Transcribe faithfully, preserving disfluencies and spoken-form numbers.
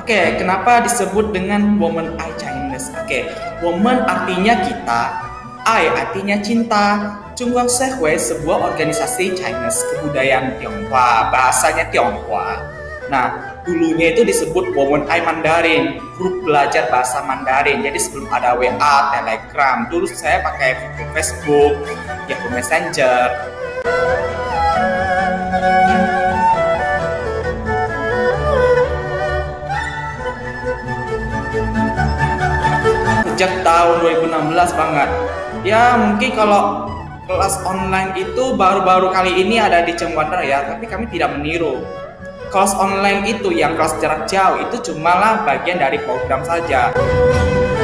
Oke, kenapa disebut dengan Woman I Chinese? Oke, woman artinya kita, I artinya cinta. Zhongguang Shehui sebuah organisasi Chinese kebudayaan Tionghoa, bahasanya Tionghoa. Nah, dulunya itu disebut Woman I Mandarin, grup belajar bahasa Mandarin. Jadi sebelum ada W A, Telegram, dulu saya pakai Facebook, Yahoo Messenger. Sejak tahun dua ribu enam belas banget. Ya mungkin kalau kelas online itu baru-baru kali ini ada di Cengguandar ya, tapi kami tidak meniru. Kelas online itu yang kelas jarak jauh itu cumalah bagian dari program saja.